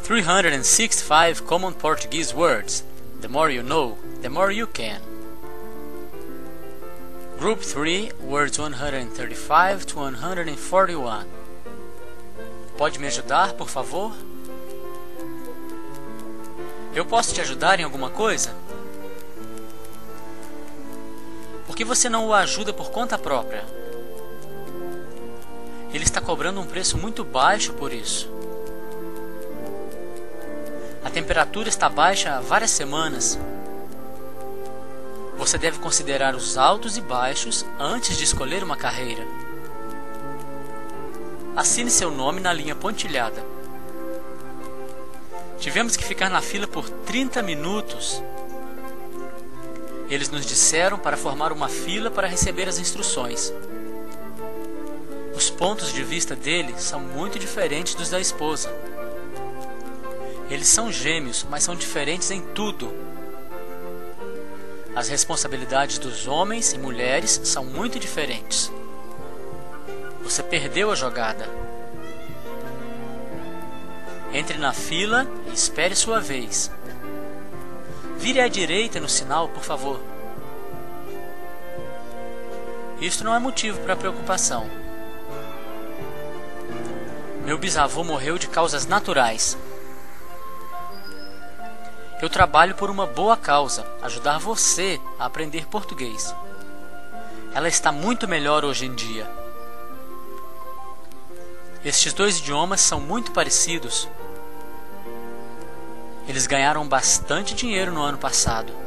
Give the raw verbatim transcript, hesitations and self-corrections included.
three hundred sixty-five common Portuguese words. The more you know, the more you can. Group three, words one hundred thirty-five to one hundred forty-one. Pode me ajudar, por favor? Eu posso te ajudar em alguma coisa? Por que você não o ajuda por conta própria? Ele está cobrando um preço muito baixo por isso. A temperatura está baixa há várias semanas. Você deve considerar os altos e baixos antes de escolher uma carreira. Assine seu nome na linha pontilhada. Tivemos que ficar na fila por trinta minutos. Eles nos disseram para formar uma fila para receber as instruções. Os pontos de vista dele são muito diferentes dos da esposa. Eles são gêmeos, mas são diferentes em tudo. As responsabilidades dos homens e mulheres são muito diferentes. Você perdeu a jogada. Entre na fila e espere sua vez. Vire à direita no sinal, por favor. Isto não é motivo para preocupação. Meu bisavô morreu de causas naturais. Eu trabalho por uma boa causa, ajudar você a aprender português. Ela está muito melhor hoje em dia. Estes dois idiomas são muito parecidos. Eles ganharam bastante dinheiro no ano passado.